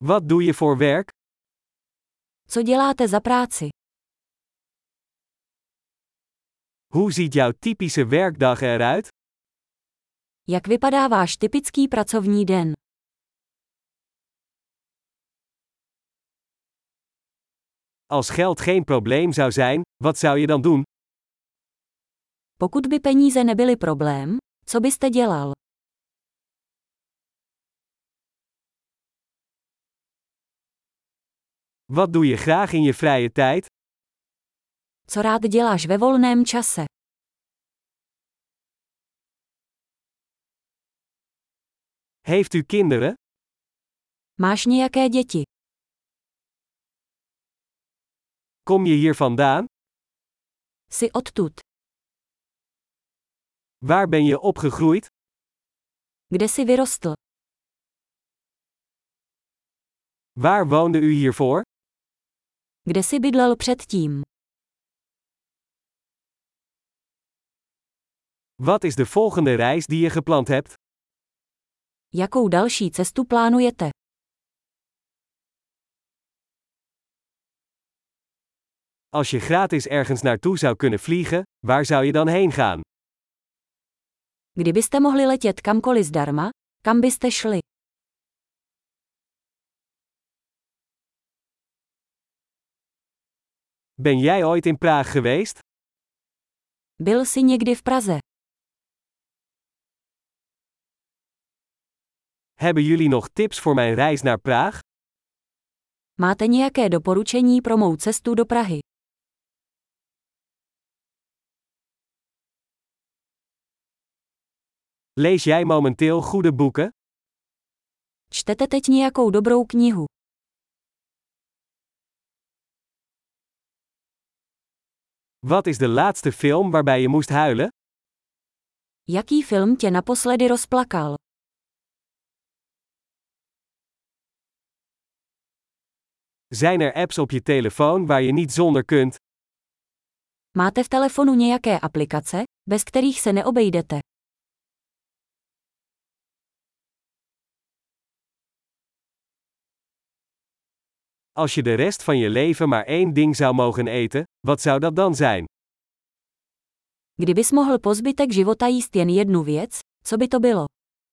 Wat doe je voor werk? Co děláte za práci? Hoe ziet jouw typische werkdag eruit? Jak vypadá váš typický pracovní den? Als geld geen probleem zou zijn, wat zou je dan doen? Pokud by peníze nebyly problém, co byste dělal? Wat doe je graag in je vrije tijd? Co rád děláš ve volném čase? Heeft u kinderen? Máš nějaké děti? Kom je hier vandaan? Jsi odtud? Waar ben je opgegroeid? Kde jsi vyrostl? Waar woonde u hiervoor? Kde jsi bydlel předtím? Wat is de volgende reis die je gepland hebt? Jakou další cestu plánujete? Als je gratis ergens naartoe zou kunnen vliegen, waar zou je dan heen gaan? Kdybyste mohli letět kamkoliv zdarma, kam byste šli? Ben jij ooit in Praag geweest? Byl jsi někdy v Praze? Hebben jullie nog tips voor mijn reis naar Praag? Máte nějaké doporučení pro mou cestu do Prahy? Lees jij momenteel goede boeken? Čtete teď nějakou dobrou knihu? Wat is de laatste film waarbij je moest huilen? Jaký film tě naposledy rozplakal? Zijn er apps op je telefoon waar je niet zonder kunt? Máte v telefonu nějaké aplikace, bez kterých se neobejdete? Als je de rest van je leven maar één ding zou mogen eten, wat zou dat dan zijn? Kdybys mohl po zbytek života jíst jen jednu věc, co by to bylo?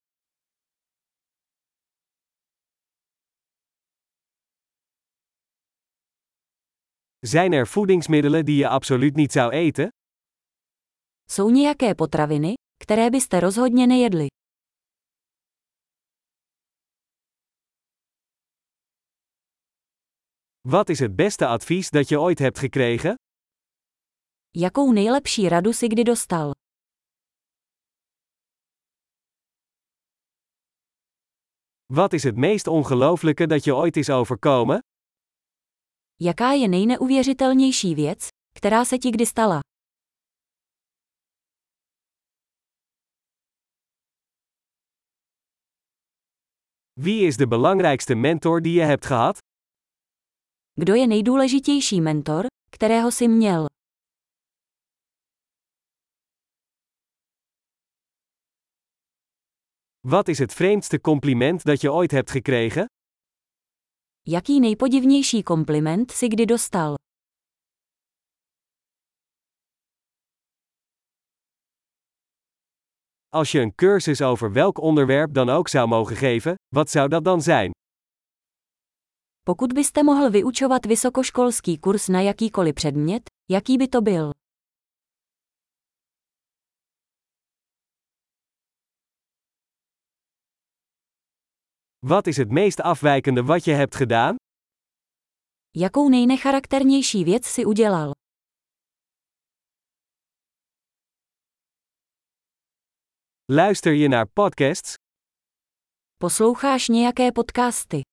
Zijn er voedingsmiddelen die je absoluut niet zou eten? Jsou nějaké potraviny, které byste rozhodně nejedli? Wat is het beste advies dat je ooit hebt gekregen? Jakou nejlepší radu jsi kdy dostal? Wat is het meest ongelooflijke dat je ooit is overkomen? Jaká je nejneuvěřitelnější věc, která se ti kdy stala? Wie is de belangrijkste mentor die je hebt gehad? Kdo je nejdůležitější mentor, kterého jsi měl? Wat is het vreemdste compliment dat je ooit hebt gekregen? Jaký nejpodivnější kompliment jsi kdy dostal? Als je een cursus over welk onderwerp dan ook zou mogen geven, wat zou dat dan zijn? Pokud byste mohl vyučovat vysokoškolský kurz na jakýkoliv předmět, jaký by to byl? Wat is het meest afwijkende wat je hebt gedaan? Jakou nejnecharakternější věc jsi udělal? Luister je naar podcasts? Posloucháš nějaké podcasty?